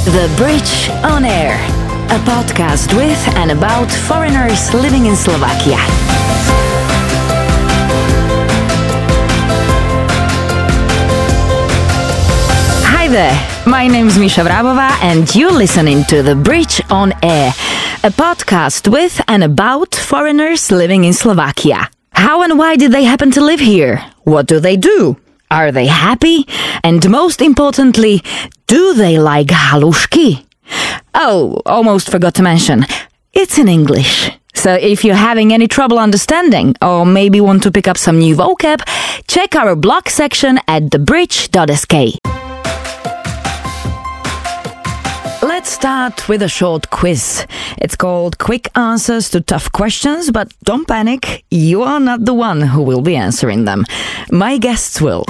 The Bridge on Air, a podcast with and about foreigners living in Slovakia. Hi there, my name's Misha Vrabova and you're listening to The Bridge on Air, a podcast with and about foreigners living in Slovakia. How and why did they happen to live here? What do they do? Are they happy? And most importantly, do they like halušky? Oh, almost forgot to mention, it's in English. So if you're having any trouble understanding, or maybe want to pick up some new vocab, check our blog section at thebridge.sk. Let's start with a short quiz. It's called Quick Answers to Tough Questions, but don't panic, you are not the one who will be answering them. My guests will.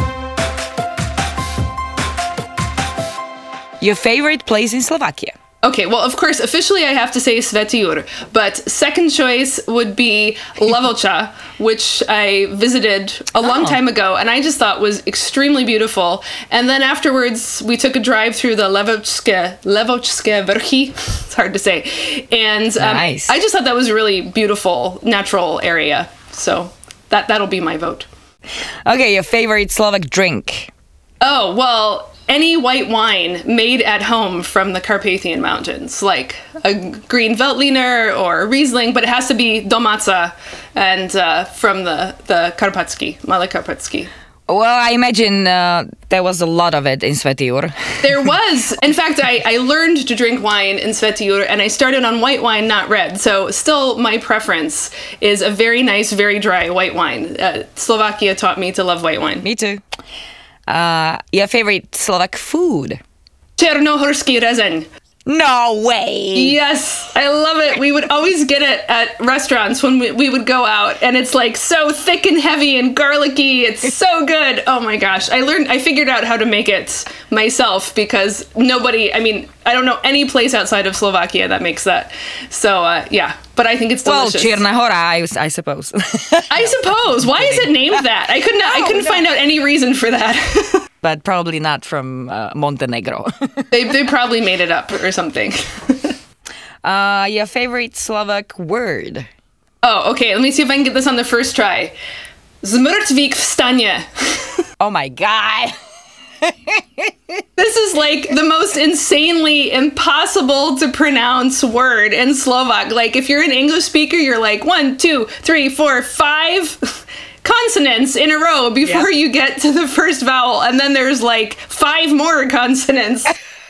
Your favorite place in Slovakia? Okay, well, of course, officially I have to say Svätý Jur, but second choice would be Levoča, which I visited a long time ago, and I just thought was extremely beautiful. And then afterwards, we took a drive through the Levočské vrchy. It's hard to say. And nice. I just thought that was a really beautiful, natural area. So that'll be my vote. Okay, your favorite Slovak drink? Oh, well, any white wine made at home from the Carpathian Mountains, like a green Veltliner or a Riesling, but it has to be domáca and from the Karpatsky, Malé Karpatsky. Well, I imagine there was a lot of it in Svätý Jur. There was. In fact, I learned to drink wine in Svätý Jur, and I started on white wine, not red. So still my preference is a very nice, very dry white wine. Slovakia taught me to love white wine. Me too. Your favorite Slovak food? Černohorský rezeň. No way! Yes, I love it. We would always get it at restaurants when we would go out, and it's like so thick and heavy and garlicky. It's so good. Oh my gosh. I figured out how to make it myself because I don't know any place outside of Slovakia that makes that. So, yeah, but I think it's delicious. Well, Čierna Hora, I suppose. I suppose. Why is it named that? I couldn't find out any reason for that. But probably not from Montenegro. They probably made it up or something. Your favorite Slovak word? Oh, okay. Let me see if I can get this on the first try. Zmrtvik vstane. Oh my God. This is like the most insanely impossible to pronounce word in Slovak. Like if you're an English speaker, you're like 1, 2, 3, 4, 5 consonants in a row before you get to the first vowel. And then there's like 5 more consonants.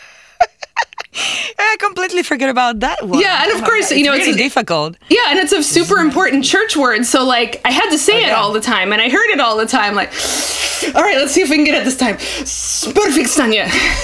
I completely forget about that one. Yeah, and of course, it's really difficult. Yeah, and it's a super important church word, so like I had to say it all the time, and I heard it all the time. Like, all right, let's see if we can get it this time. Zmrtvik vstane.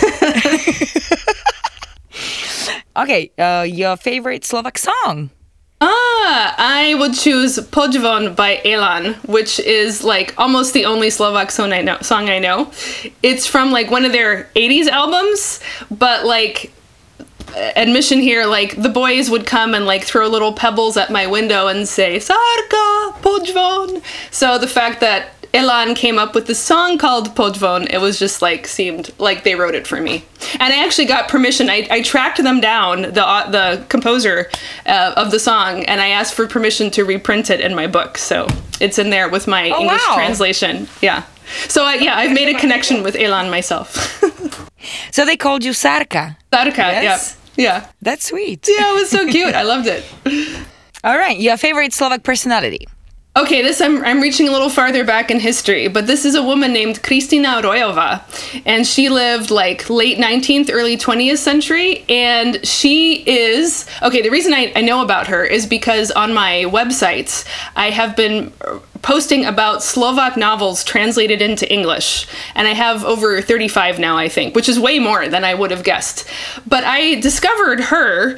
Okay, your favorite Slovak song? I would choose Podzvon by Elan, which is like almost the only Slovak song I know. It's from like one of their 80s albums, but like admission here, like the boys would come and like throw little pebbles at my window and say Sarka Podzvon. So the fact that Elan came up with the song called Podzvon, it was just like seemed like they wrote it for me. And I actually got permission. I tracked them down, the composer of the song, and I asked for permission to reprint it in my book. So it's in there with my English translation. Yeah. So I've made a connection with Elan myself. So they called you Sarka. Sarka, yes? Yeah. That's sweet. Yeah, it was so cute. I loved it. All right, your favorite Slovak personality? Okay, I'm reaching a little farther back in history, but this is a woman named Kristina Rojová, and she lived like late 19th, early 20th century, and she is, okay, the reason I know about her is because on my websites, I have been posting about Slovak novels translated into English, and I have over 35 now, I think, which is way more than I would have guessed. But I discovered her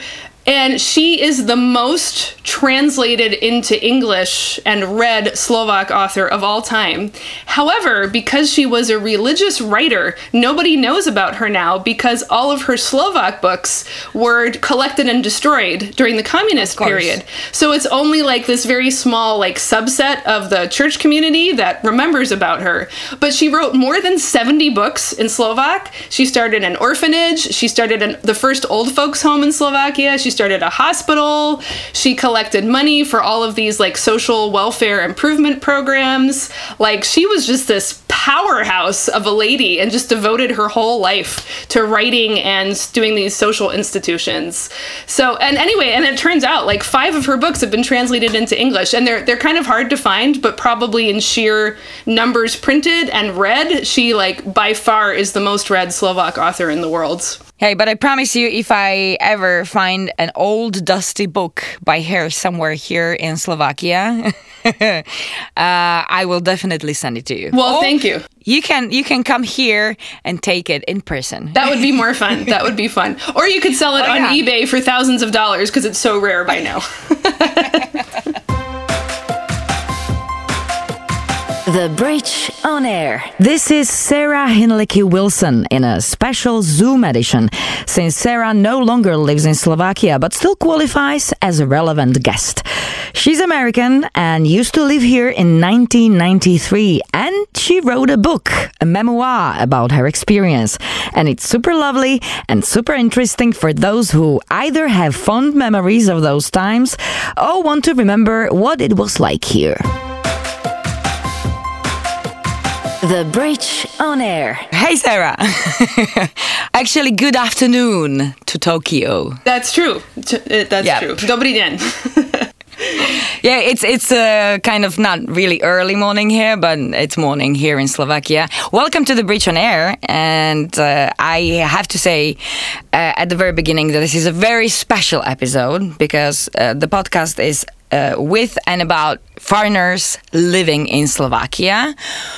And she is the most translated into English and read Slovak author of all time. However, because she was a religious writer, nobody knows about her now because all of her Slovak books were collected and destroyed during the communist period. So it's only like this very small like subset of the church community that remembers about her. But she wrote more than 70 books in Slovak. She started an orphanage. She started the first old folks home in Slovakia. She started a hospital. She collected money for all of these like social welfare improvement programs. Like she was just this powerhouse of a lady and just devoted her whole life to writing and doing these social institutions. So, and anyway, and it turns out like 5 of her books have been translated into English, and they're kind of hard to find, but probably in sheer numbers printed and read, she like by far is the most read Slovak author in the world. Hey, but I promise you, if I ever find an old dusty book by her somewhere here in Slovakia, I will definitely send it to you. Well, thank you. You can come here and take it in person. That would be more fun. That would be fun. Or you could sell it on eBay for thousands of dollars because it's so rare by now. The Bridge on Air. This is Sarah Hinlicky Wilson in a special Zoom edition, since Sarah no longer lives in Slovakia but still qualifies as a relevant guest. She's American and used to live here in 1993, and she wrote a book, a memoir about her experience. And it's super lovely and super interesting for those who either have fond memories of those times or want to remember what it was like here. The Bridge on Air. Hey, Sarah. Actually, good afternoon to Tokyo. That's true. That's true. Dobrý deň. Yeah, it's kind of not really early morning here, but it's morning here in Slovakia. Welcome to The Bridge on Air. And I have to say at the very beginning that this is a very special episode because the podcast is with and about foreigners living in Slovakia.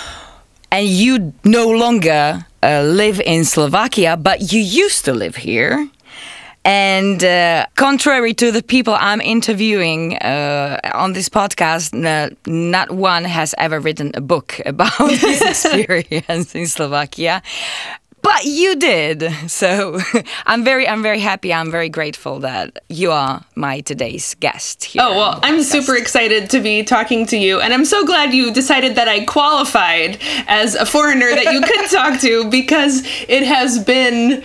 And you no longer live in Slovakia, but you used to live here. And contrary to the people I'm interviewing on this podcast, not one has ever written a book about this experience in Slovakia. But you did. So I'm very happy. I'm very grateful that you are my today's guest here. Oh, well, I'm super excited to be talking to you. And I'm so glad you decided that I qualified as a foreigner that you could talk to, because it has been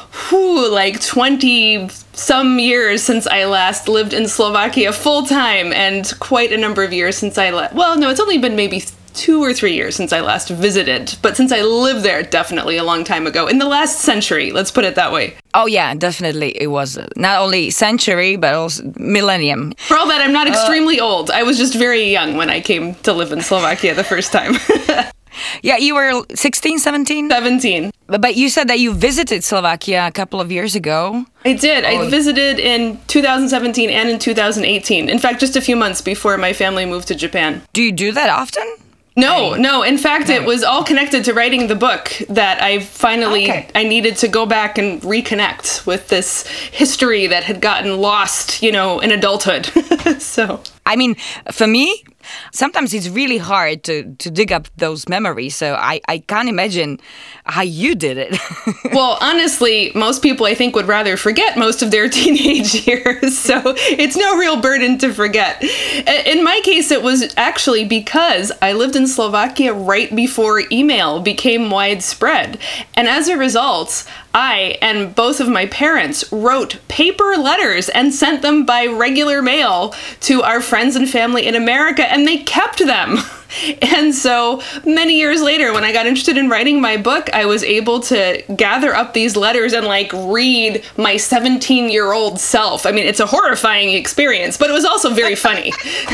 like 20 some years since I last lived in Slovakia full time, and quite a number of years since I left. Well, no, it's only been maybe 2 or 3 years since I last visited, but since I lived there, definitely a long time ago. In the last century, let's put it that way. Oh yeah, definitely. It was not only century, but also millennium. For all that, I'm not extremely old. I was just very young when I came to live in Slovakia the first time. Yeah, you were 16, 17? 17. But you said that you visited Slovakia a couple of years ago. I did. I visited in 2017 and in 2018. In fact, just a few months before my family moved to Japan. Do you do that often? No. In fact, it was all connected to writing the book that I finally, I needed to go back and reconnect with this history that had gotten lost, in adulthood. So, I mean, for me, sometimes it's really hard to dig up those memories. So I can't imagine how you did it. Well, honestly, most people I think would rather forget most of their teenage years. So it's no real burden to forget. In my case, it was actually because I lived in Slovakia right before email became widespread. And as a result, I and both of my parents wrote paper letters and sent them by regular mail to our friends and family in America, and they kept them. And so many years later, when I got interested in writing my book, I was able to gather up these letters and read my 17-year-old self. I mean, it's a horrifying experience, but it was also very funny.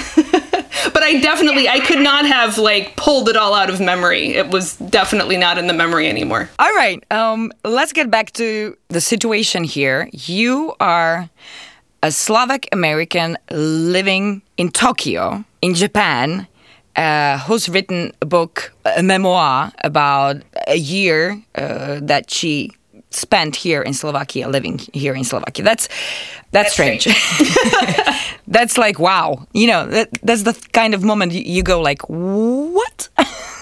But I could not have pulled it all out of memory. It was definitely not in the memory anymore. All right. Let's get back to the situation here. You are a Slovak American living in Tokyo, in Japan, who's written a book, a memoir about a year that she spent here in Slovakia, living here in Slovakia. That's strange. That's like, wow. You know, that's the kind of moment you go like, what?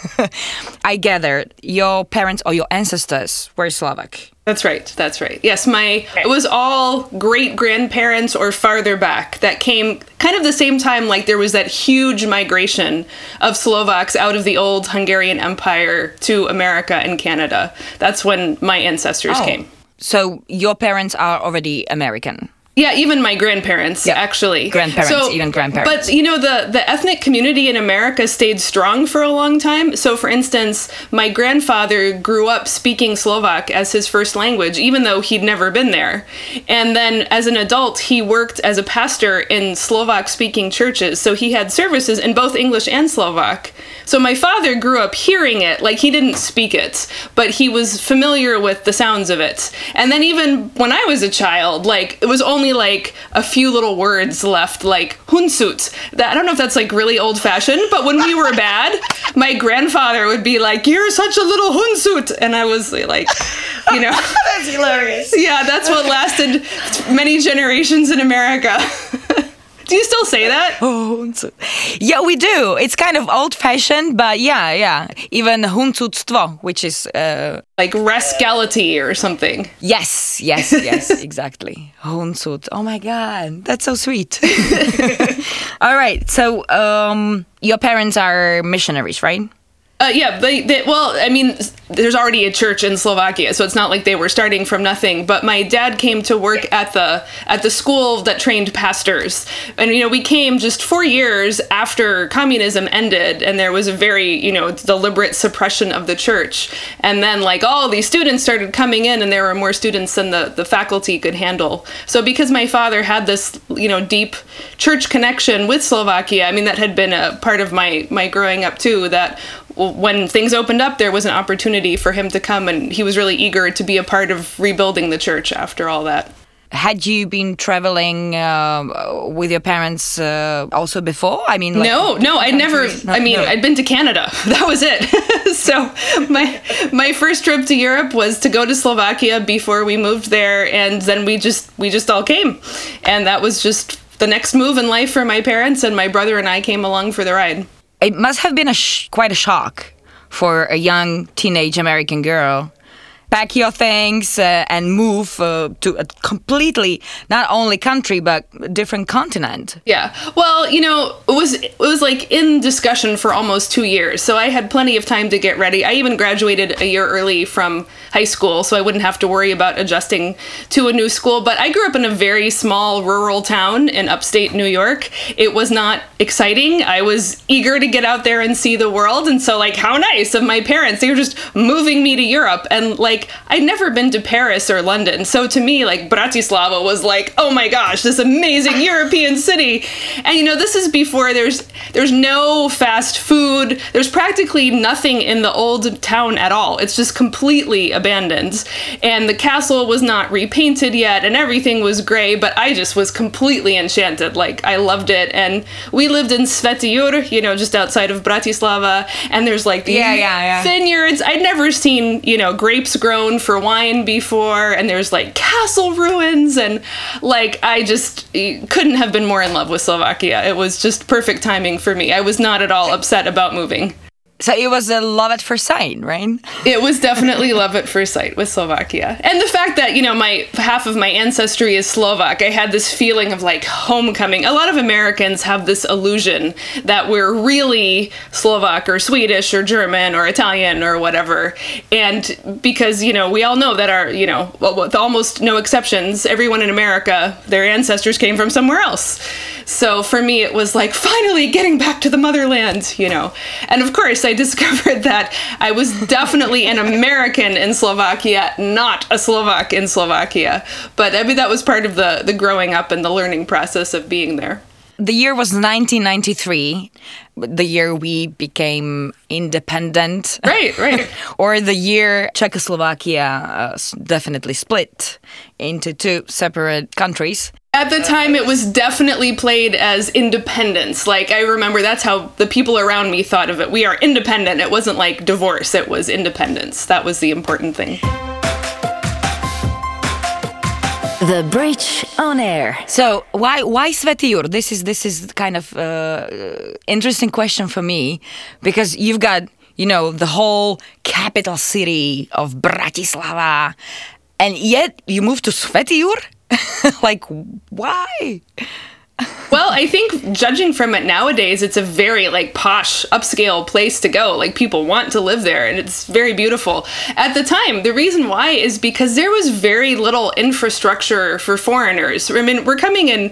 I gathered your parents or your ancestors were Slovak. That's right. Yes, it was all great-grandparents or farther back that came kind of the same time, like there was that huge migration of Slovaks out of the old Hungarian Empire to America and Canada. That's when my ancestors came. So your parents are already American? Yeah, even my grandparents, actually. Even grandparents. But, you know, the ethnic community in America stayed strong for a long time. So, for instance, my grandfather grew up speaking Slovak as his first language, even though he'd never been there. And then, as an adult, he worked as a pastor in Slovak-speaking churches. So he had services in both English and Slovak. So my father grew up hearing it, like he didn't speak it, but he was familiar with the sounds of it. And then even when I was a child, like, it was only like a few little words left, like hunsut. I don't know if that's like really old fashioned, but when we were bad, my grandfather would be like, "You're such a little hunsut," and I was like, you know, that's hilarious. Yeah, that's what lasted many generations in America. Do you still say that? Oh, yeah, we do. It's kind of old-fashioned, but yeah. Even hunsutstvo, which is like rascality or something. Yes, exactly. Hunsut. Oh my God, that's so sweet. All right, so your parents are missionaries, right? Yeah, well, I mean, there's already a church in Slovakia, so it's not like they were starting from nothing. But my dad came to work at the school that trained pastors, and you know, we came just 4 years after communism ended, and there was a very deliberate suppression of the church, and then like all these students started coming in, and there were more students than the faculty could handle. So because my father had this deep church connection with Slovakia, I mean, that had been a part of my growing up too. That when things opened up, there was an opportunity for him to come, and he was really eager to be a part of rebuilding the church after all that. Had you been traveling with your parents also before? I mean, like, no, I'd never. I'd been to Canada. That was it. So my first trip to Europe was to go to Slovakia before we moved there, and then we just all came, and that was just the next move in life for my parents, and my brother and I came along for the ride. It must have been quite a shock for a young teenage American girl. Pack your things and move to a completely, not only country, but different continent. Yeah. Well, it was like in discussion for almost 2 years. So I had plenty of time to get ready. I even graduated a year early from high school, so I wouldn't have to worry about adjusting to a new school. But I grew up in a very small rural town in upstate New York. It was not exciting. I was eager to get out there and see the world. And so, like, how nice of my parents. They were just moving me to Europe. And, like, I'd never been to Paris or London. So to me, like, Bratislava was like, oh my gosh, this amazing European city. And, this is before there's no fast food. There's practically nothing in the old town at all. It's just completely abandoned. And the castle was not repainted yet, and everything was gray, but I just was completely enchanted. Like, I loved it. And we lived in Sveti Jur, just outside of Bratislava. And there's like these vineyards. I'd never seen, grapes grown for wine before, and there's like castle ruins, and like I just couldn't have been more in love with Slovakia. It was just perfect timing for me. I was not at all upset about moving. So it was a love at first sight, right? It was definitely love at first sight with Slovakia. And the fact that, half of my ancestry is Slovak, I had this feeling of like homecoming. A lot of Americans have this illusion that we're really Slovak or Swedish or German or Italian or whatever. And because, we all know that our, with almost no exceptions, everyone in America, their ancestors came from somewhere else. So for me, it was like finally getting back to the motherland, And of course, I discovered that I was definitely an American in Slovakia, not a Slovak in Slovakia. But I mean, that was part of the growing up and the learning process of being there. The year was 1993, the year we became independent. Right. Or the year Czechoslovakia definitely split into two separate countries. At the time, it was definitely played as independence. Like, I remember that's how the people around me thought of it. We are independent. It wasn't like divorce. It was independence. That was the important thing. The Bridge on Air. So why Svätý Jur? This is kind of interesting question for me, because you've got, the whole capital city of Bratislava, and yet you moved to Svätý Jur? Like, why? Well, I think judging from it nowadays, it's a very posh, upscale place to go. People want to live there, and it's very beautiful. At the time, the reason why is because there was very little infrastructure for foreigners. I mean, we're coming in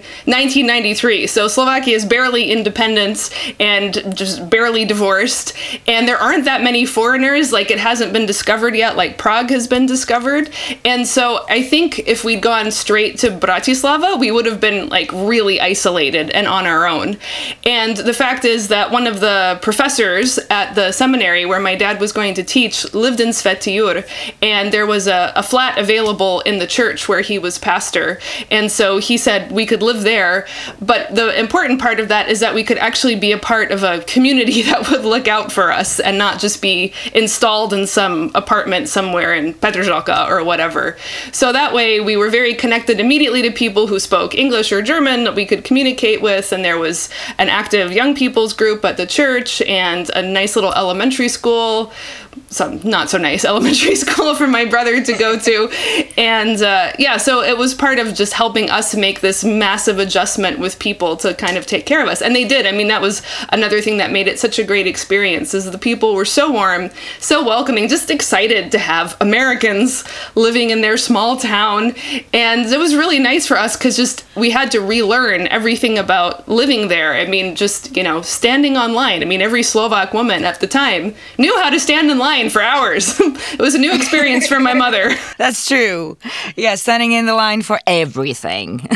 1993, so Slovakia is barely independent and just barely divorced, and there aren't that many foreigners. It hasn't been discovered yet, like Prague has been discovered. And so I think if we'd gone straight to Bratislava, we would have been really isolated and on our own. And the fact is that one of the professors at the seminary where my dad was going to teach lived in Svätý Jur, and there was a flat available in the church where he was pastor. And so he said we could live there, but the important part of that is that we could actually be a part of a community that would look out for us and not just be installed in some apartment somewhere in Petržalka or whatever. So that way we were very connected immediately to people who spoke English or German that we could communicate with, and there was an active young people's group at the church and a nice little elementary school, some not so nice elementary school for my brother to go to. And so it was part of just helping us make this massive adjustment with people to kind of take care of us. And they did. I mean, that was another thing that made it such a great experience, is the people were so warm, so welcoming, just excited to have Americans living in their small town. And it was really nice for us because just we had to relearn everything about living there. I mean, just, standing on line. I mean, every Slovak woman at the time knew how to stand in line for hours. It was a new experience for my mother. That's true. Yeah, standing in the line for everything.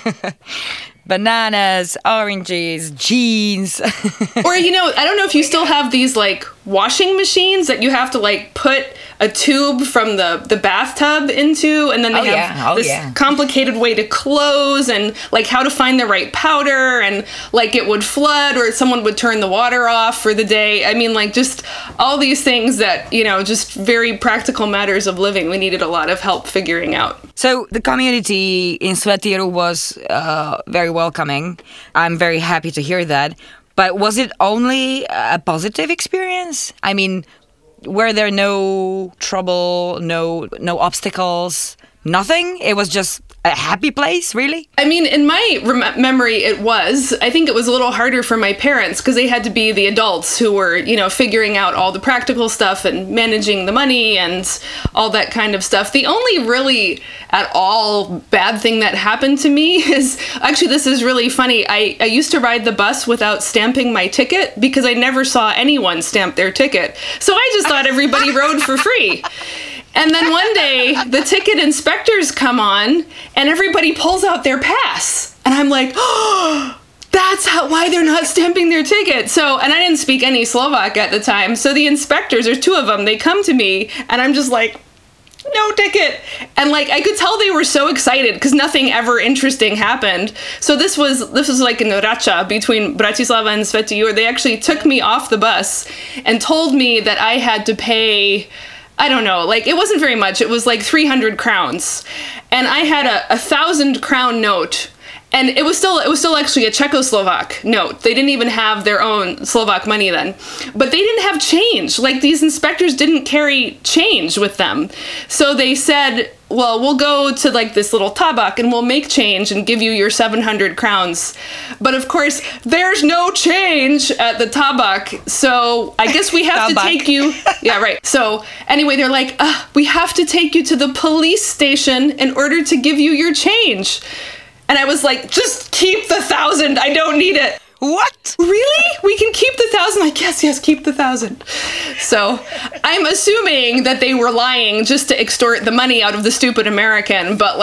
Bananas, oranges, jeans. Or, I don't know if you still have these washing machines that you have to put a tube from the bathtub into, and then they have this complicated way to close, and how to find the right powder, and it would flood or someone would turn the water off for the day. I mean, just all these things that, just very practical matters of living. We needed a lot of help figuring out. So the community in Svätý Jur was very welcoming. I'm very happy to hear that. But was it only a positive experience? I mean, were there no trouble, no obstacles, nothing? It was just a happy place, really? I mean, in my memory, it was. I think it was a little harder for my parents because they had to be the adults who were, figuring out all the practical stuff and managing the money and all that kind of stuff. The only really at all bad thing that happened to me is, actually, this is really funny. I used to ride the bus without stamping my ticket because I never saw anyone stamp their ticket. So I just thought everybody rode for free. And then one day, the ticket inspectors come on, and everybody pulls out their pass. And I'm like, oh, that's why they're not stamping their ticket. So, and I didn't speak any Slovak at the time. So the inspectors, there's two of them, they come to me, and I'm just like, no ticket. And I could tell they were so excited because nothing ever interesting happened. So this was in Rača between Bratislava and Svätý Jur. They actually took me off the bus and told me that I had to pay, I don't know, it wasn't very much. It was 300 crowns. And I had a 1,000 crown note. And it was still actually a Czechoslovak note. They didn't even have their own Slovak money then. But they didn't have change. These inspectors didn't carry change with them. So they said, well, we'll go to this little tabak and we'll make change and give you your 700 crowns. But of course, there's no change at the tabak. So I guess we have to take you. Yeah, right. So anyway, they're like, we have to take you to the police station in order to give you your change. And I was like, just keep the 1,000. I don't need it. What? Really? We can keep the 1,000? Like, yes, keep the 1,000. So I'm assuming that they were lying just to extort the money out of the stupid American. But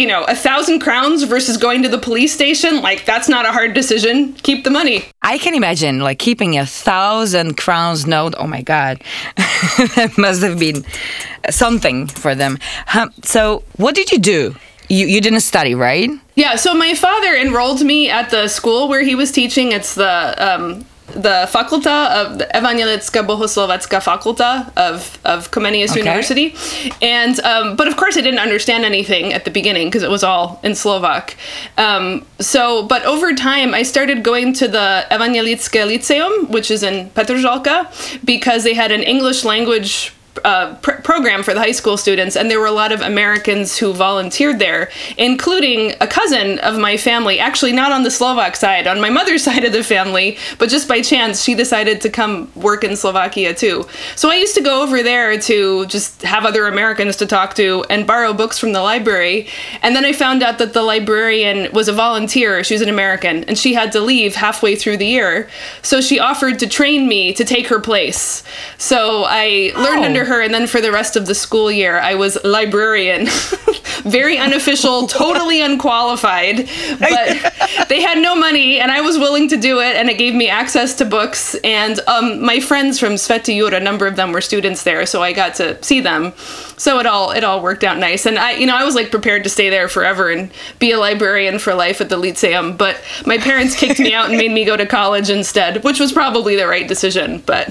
1,000 crowns versus going to the police station, that's not a hard decision. Keep the money. I can imagine keeping 1,000 crowns note. Oh my God. That must have been something for them. So what did you do? You didn't study, right? Yeah, so my father enrolled me at the school where he was teaching. It's the the fakulta of the Evangelicka Bohoslovacka fakulta of Comenius University. And, but of course I didn't understand anything at the beginning because it was all in Slovak. But over time I started going to the Evangelicke Lyceum, which is in Petržalka, because they had an English language program for the high school students, and there were a lot of Americans who volunteered there, including a cousin of my family, actually not on the Slovak side, on my mother's side of the family, but just by chance she decided to come work in Slovakia too. So I used to go over there to just have other Americans to talk to and borrow books from the library, and then I found out that the librarian was a volunteer. She was an American, and she had to leave halfway through the year, so she offered to train me to take her place. So I learned under her, and then for the rest of the school year I was librarian. Very unofficial, totally unqualified, but they had no money and I was willing to do it, and it gave me access to books, and my friends from Sveti Jur, a number of them were students there, so I got to see them. So it all worked out nice, and I was like prepared to stay there forever and be a librarian for life at the Lyceum, but my parents kicked me out and made me go to college instead, which was probably the right decision, but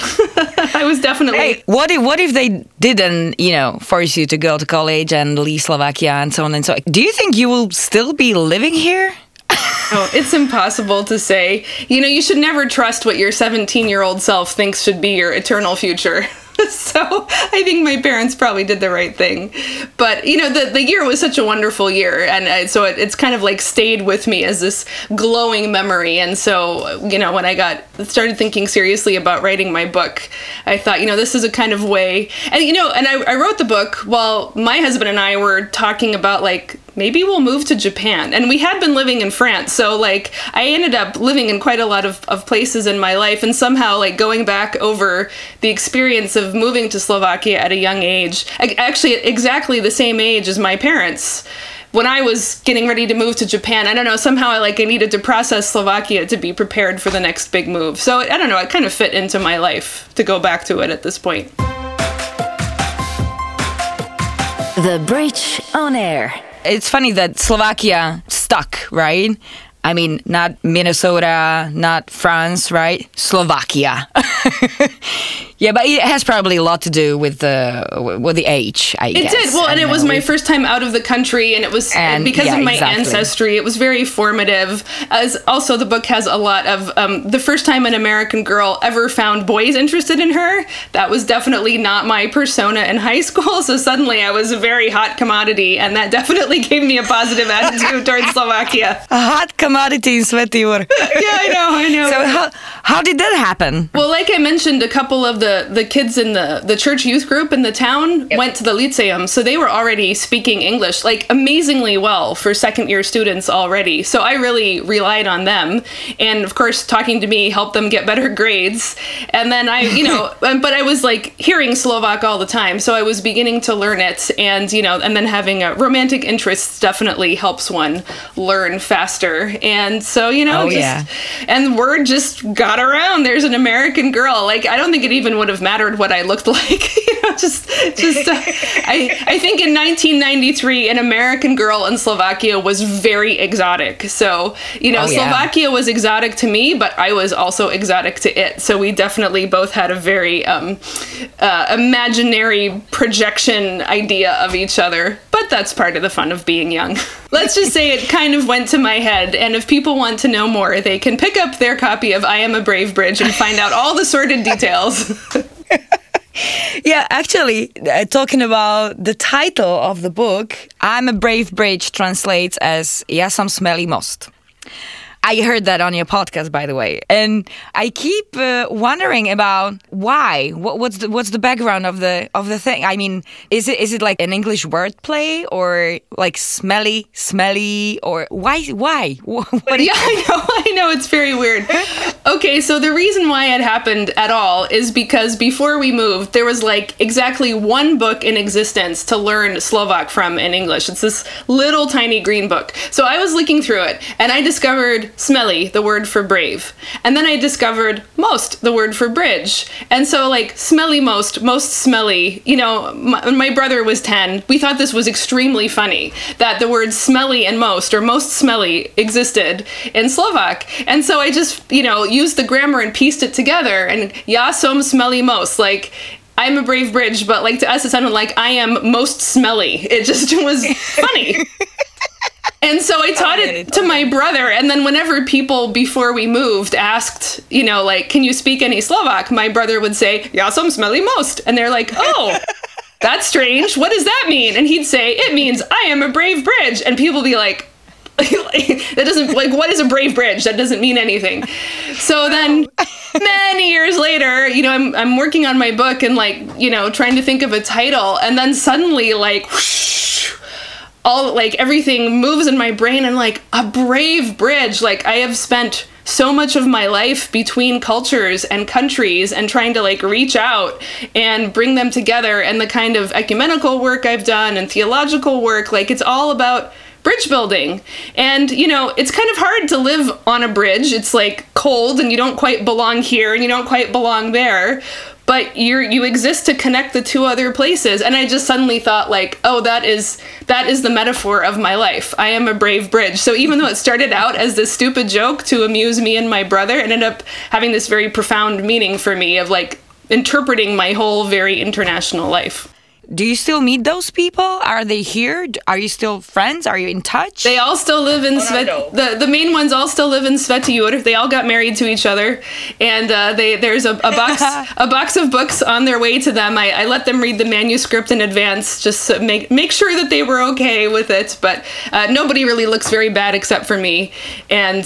I was definitely... Hey, what if they didn't, force you to go to college and leave Slovakia and so on and so on? Do you think you will still be living here? Oh, it's impossible to say. You should never trust what your 17-year-old self thinks should be your eternal future. So I think my parents probably did the right thing. But, the year was such a wonderful year. And so it's kind of like stayed with me as this glowing memory. And so, when I started thinking seriously about writing my book, I thought, this is a kind of way. And, and I wrote the book while my husband and I were talking about maybe we'll move to Japan. And we had been living in France. So I ended up living in quite a lot of places in my life, and somehow going back over the experience of moving to Slovakia at a young age, actually exactly the same age as my parents. When I was getting ready to move to Japan, I don't know, somehow I needed to process Slovakia to be prepared for the next big move. So I don't know, it kind of fit into my life to go back to it at this point. The Bridge on Air. It's funny that Slovakia stuck, right? I mean, not Minnesota, not France, right? Slovakia. Yeah, but it has probably a lot to do with the age, I guess. It did. Well, and it was my first time out of the country, and it was because of my ancestry. It was very formative. As also, the book has a lot of the first time an American girl ever found boys interested in her. That was definitely not my persona in high school. So suddenly, I was a very hot commodity, and that definitely gave me a positive attitude towards Slovakia. A hot commodity in Sveti Jur. Yeah, I know. So how did that happen? Well, like I mentioned, a couple of the kids in the church youth group in the town went to the Lyceum, so they were already speaking English amazingly well for second-year students already. So I really relied on them, and of course, talking to me helped them get better grades. And then but I was hearing Slovak all the time, so I was beginning to learn it, and and then having a romantic interest definitely helps one learn faster. And so and word just got around. There's an American girl. I don't think it even would have mattered what I looked like. I think in 1993, an American girl in Slovakia was very exotic. So, Slovakia was exotic to me, but I was also exotic to it. So we definitely both had a very imaginary projection idea of each other. But that's part of the fun of being young. Let's just say it kind of went to my head. And if people want to know more, they can pick up their copy of I Am a Brave Bridge and find out all the sordid details. Yeah, actually, talking about the title of the book, I'm a Brave Bridge translates as Ja sam smelý most. I heard that on your podcast, by the way, and I keep wondering about why. What's the background of the thing? I mean, is it like an English wordplay or smelly, or why? Yeah, I know, it's very weird. Okay, so the reason why it happened at all is because before we moved, there was exactly one book in existence to learn Slovak from in English. It's this little tiny green book. So I was looking through it, and I discovered discovered smelly, the word for brave. And then I discovered most, the word for bridge. And so like smelly most smelly, you know, my brother was 10. We thought this was extremely funny that the words smelly and most, or most smelly, existed in Slovak. And so I just, you know, used the grammar and pieced it together. And ja som smelly most, like, I'm a brave bridge, but like to us it sounded like I am most smelly. It just was funny. And so I taught it to my brother, and then whenever people before we moved asked, you know, like, can you speak any Slovak? My brother would say, ja som smelly most. And they're like, oh, that's strange. What does that mean? And he'd say, it means I am a brave bridge. And people would be like, that doesn't, like, what is a brave bridge? That doesn't mean anything. So then many years later, you know, I'm working on my book and like, you know, trying to think of a title, and then suddenly like whoosh, all like everything moves in my brain and like a brave bridge. Like I have spent so much of my life between cultures and countries and trying to like reach out and bring them together, and the kind of ecumenical work I've done and theological work, like it's all about bridge building. And, you know, it's kind of hard to live on a bridge. It's like cold and you don't quite belong here and you don't quite belong there, but you exist to connect the two other places. And I just suddenly thought like, oh, that is the metaphor of my life. I am a brave bridge. So even though it started out as this stupid joke to amuse me and my brother, it ended up having this very profound meaning for me of like interpreting my whole very international life. Do you still meet those people? Are they here? Are you still friends? Are you in touch? They all still live in the main ones all still live in Svetiyur. They all got married to each other, and there's a box of books on their way to them. I let them read the manuscript in advance just to make sure that they were okay with it. But nobody really looks very bad except for me, and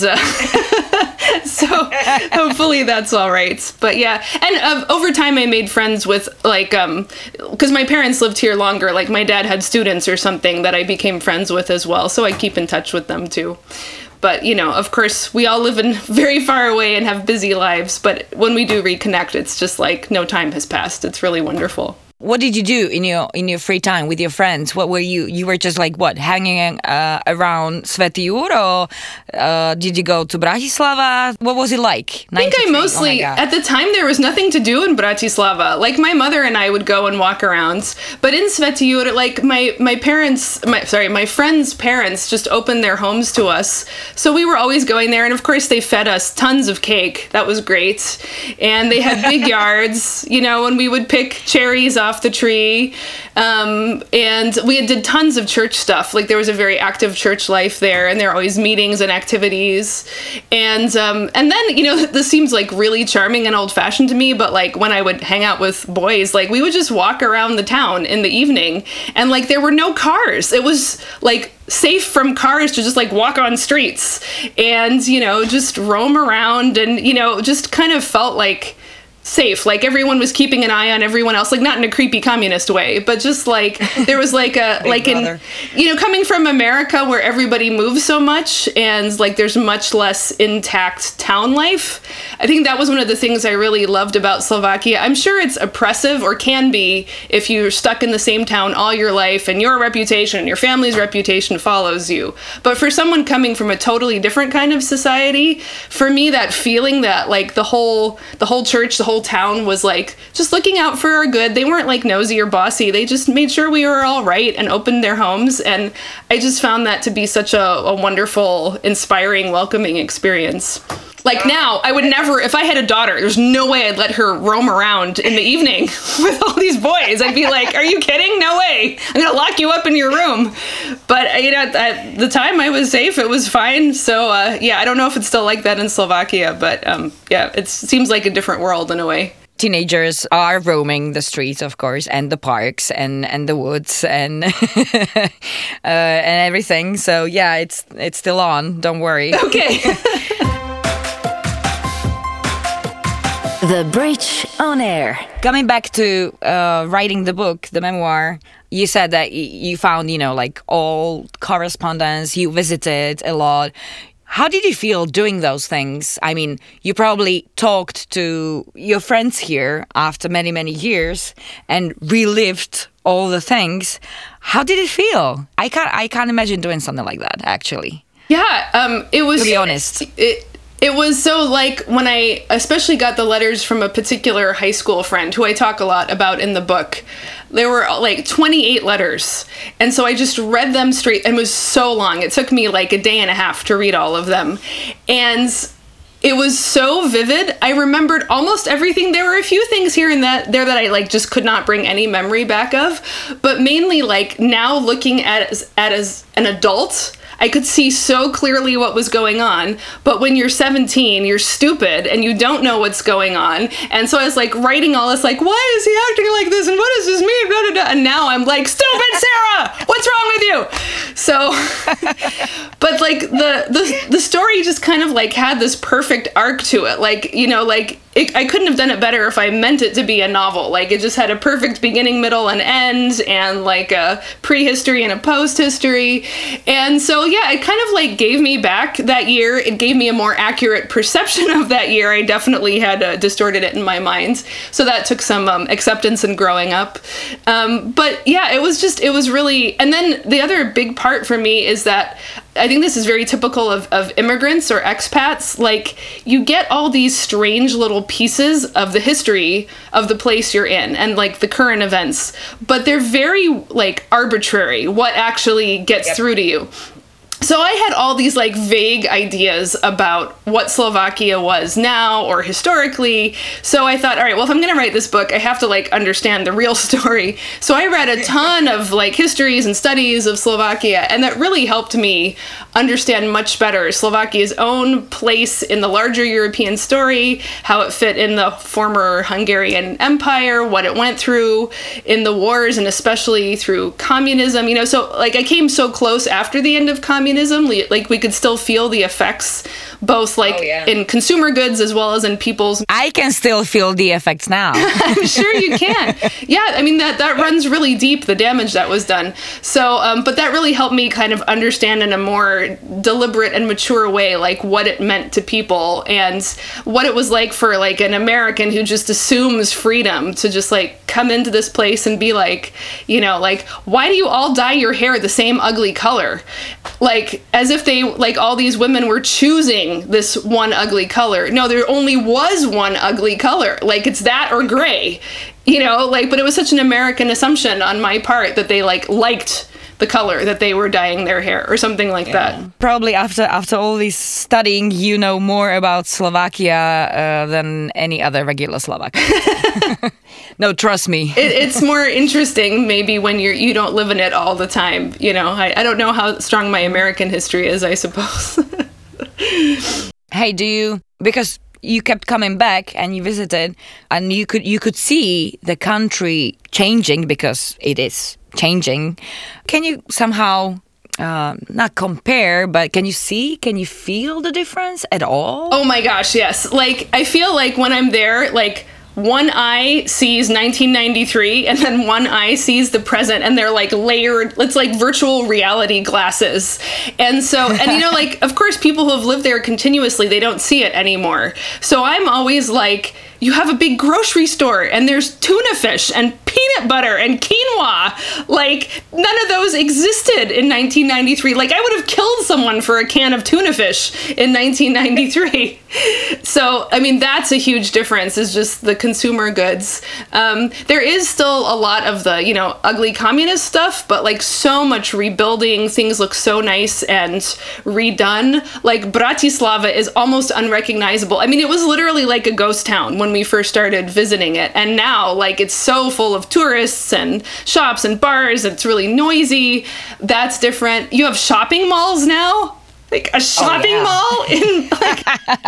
so hopefully that's all right. But yeah, and over time I made friends with like because my parents lived here longer. Like my dad had students or something that I became friends with as well, so I keep in touch with them too. But you know, of course, we all live in very far away and have busy lives, but when we do reconnect, it's just like no time has passed. It's really wonderful. What did you do in your free time with your friends? What were you were just like what, hanging around Svetiyur, or did you go to Bratislava? What was it like? I think I mostly, at the time there was nothing to do in Bratislava. Like my mother and I would go and walk around, but in Svetiyur, like my friends' parents just opened their homes to us. So we were always going there, and of course they fed us tons of cake. That was great. And they had big yards, you know, and we would pick cherries off the tree, and we did tons of church stuff. Like there was a very active church life there, and there are always meetings and activities, and then, you know, this seems like really charming and old-fashioned to me, but like when I would hang out with boys, like we would just walk around the town in the evening, and like there were no cars. It was like safe from cars to just like walk on streets and, you know, just roam around, and, you know, just kind of felt like safe. Like everyone was keeping an eye on everyone else, like not in a creepy communist way, but just like there was like a like in, you know, coming from America where everybody moves so much and like there's much less intact town life. I think that was one of the things I really loved about Slovakia. I'm sure it's oppressive, or can be, if you're stuck in the same town all your life and your reputation, your family's reputation follows you. But for someone coming from a totally different kind of society, for me that feeling that like the whole church, the whole town was like just looking out for our good. They weren't like nosy or bossy. They just made sure we were all right and opened their homes. And I just found that to be such a wonderful, inspiring, welcoming experience. Like now, I would never, if I had a daughter, there's no way I'd let her roam around in the evening with all these boys. I'd be like, are you kidding? No way. I'm going to lock you up in your room. But, you know, at the time I was safe. It was fine. So, yeah, I don't know if it's still like that in Slovakia, but yeah, it seems like a different world in a way. Teenagers are roaming the streets, of course, and the parks and the woods and and everything. So, yeah, it's still on. Don't worry. Okay. The Bridge on Air. Coming back to writing the book, the memoir, you said that you found, you know, like all correspondence, you visited a lot. How did you feel doing those things? I mean, you probably talked to your friends here after many, many years and relived all the things. How did it feel? I can't imagine doing something like that, actually. It was, to be honest. It was so like when I especially got the letters from a particular high school friend who I talk a lot about in the book. There were like 28 letters. And so I just read them straight. And it was so long. It took me like a day and a half to read all of them. And it was so vivid. I remembered almost everything. There were a few things here and there that I like just could not bring any memory back of. But mainly like now looking at it as an adult, I could see so clearly what was going on, but when you're 17, you're stupid and you don't know what's going on. And so I was like writing all this, like, why is he acting like this? And what does this mean? Blah, blah, blah. And now I'm like, stupid Sarah, what's wrong with you? So, but like the story just kind of like had this perfect arc to it. Like, you know, like I couldn't have done it better if I meant it to be a novel. Like, it just had a perfect beginning, middle, and end, and like a prehistory and a post-history. And so, yeah, it kind of like gave me back that year. It gave me a more accurate perception of that year. I definitely had distorted it in my mind. So that took some acceptance and growing up. But yeah, it was really, and then the other big part for me is that I think this is very typical of immigrants or expats. Like, you get all these strange little pieces of the history of the place you're in and like the current events, but they're very like arbitrary what actually gets through to you. So I had all these like vague ideas about what Slovakia was now or historically. So I thought, all right, well, if I'm going to write this book, I have to like understand the real story. So I read a ton of like histories and studies of Slovakia, and that really helped me understand much better Slovakia's own place in the larger European story, how it fit in the former Hungarian Empire, what it went through in the wars, and especially through communism. You know, so like I came so close after the end of communism, like we could still feel the effects, both like in consumer goods as well as in people's. I can still feel the effects now. I'm sure you can. Yeah, I mean that runs really deep, the damage that was done. So, but that really helped me kind of understand in a more deliberate and mature way, like what it meant to people and what it was like for like an American who just assumes freedom to just like come into this place and be like, you know, like, why do you all dye your hair the same ugly color? Like, as if they, like, all these women were choosing this one ugly color. No, there only was one ugly color. Like, it's that or gray, you know, like, but it was such an American assumption on my part that they, like, liked the color that they were dyeing their hair or something like that. Probably after all this studying, you know more about Slovakia than any other regular Slovak. No, trust me. It's more interesting maybe when you don't live in it all the time. You know, I don't know how strong my American history is, I suppose. Hey, because you kept coming back and you visited and you could see the country changing because it is changing. Can you somehow not compare, but can you feel the difference at all? Oh my gosh, yes. Like, I feel like when I'm there, like, one eye sees 1993 and then one eye sees the present, and they're like layered. It's like virtual reality glasses. And so, and you know, like, of course, people who have lived there continuously, they don't see it anymore. So I'm always like, you have a big grocery store and there's tuna fish and peanut butter and quinoa. Like, none of those existed in 1993. Like, I would have killed someone for a can of tuna fish in 1993. So, I mean, that's a huge difference, is just the consumer goods. There is still a lot of the, you know, ugly communist stuff, but like so much rebuilding. Things look so nice and redone. Like, Bratislava is almost unrecognizable. I mean, it was literally like a ghost town when we first started visiting it. And now, like, it's so full of tourists and shops and bars. It's really noisy. That's different. You have shopping malls now. Like a shopping mall in like,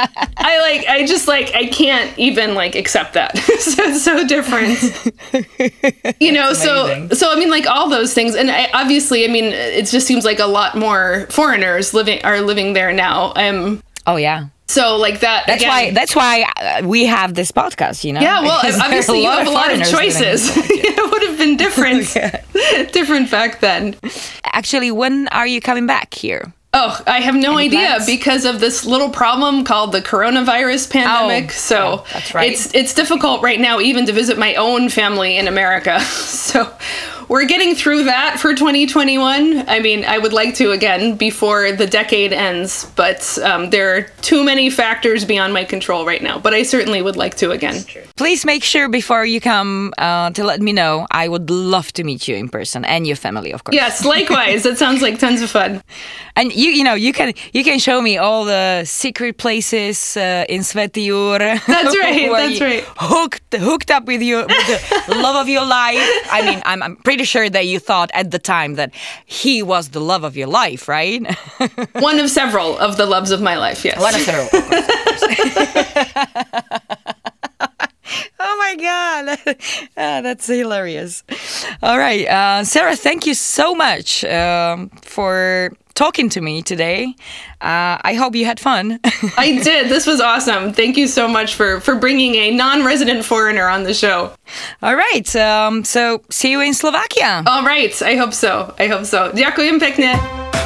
I can't even like accept that. So it's so different, you know. So I mean, like all those things, and obviously, I mean, it just seems like a lot more foreigners are living there now. Oh yeah. So like that. That's why we have this podcast, you know. Yeah, well, obviously you have a lot of choices. It would have been different back then. Actually, when are you coming back here? Oh, I have no idea because of this little problem called the coronavirus pandemic. That's right. It's difficult right now even to visit my own family in America. So we're getting through that for 2021. I mean, I would like to again before the decade ends, but there are too many factors beyond my control right now. But I certainly would like to again. Please make sure before you come to let me know. I would love to meet you in person and your family, of course. Yes, likewise. That sounds like tons of fun. And you can show me all the secret places in Svätý Jur. That's right. That's right. Hooked up with you, with the love of your life. I mean, I'm pretty sure that you thought at the time that he was the love of your life, right? One of several of the loves of my life. Yes. One of several. Of course. Oh my God, that's hilarious. All right, Sarah, thank you so much for talking to me today. I hope you had fun. I did. This was awesome. Thank you so much for bringing a non-resident foreigner on the show. All right, so see you in Slovakia. All right, I hope so. Ďakujem pekne.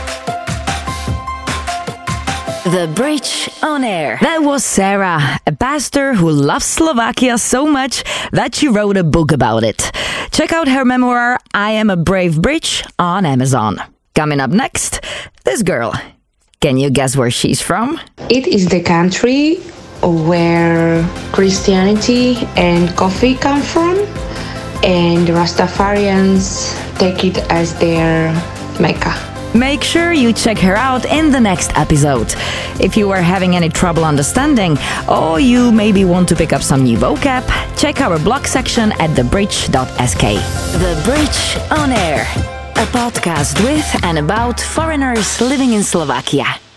The Bridge on Air. That was Sarah, a pastor who loves Slovakia so much that she wrote a book about it. Check out her memoir, I Am a Brave Bridge, on Amazon. Coming up next, this girl. Can you guess where she's from? It is the country where Christianity and coffee come from, and Rastafarians take it as their Mecca. Make sure you check her out in the next episode. If you are having any trouble understanding, or you maybe want to pick up some new vocab, check our blog section at thebridge.sk. The Bridge on Air, a podcast with and about foreigners living in Slovakia.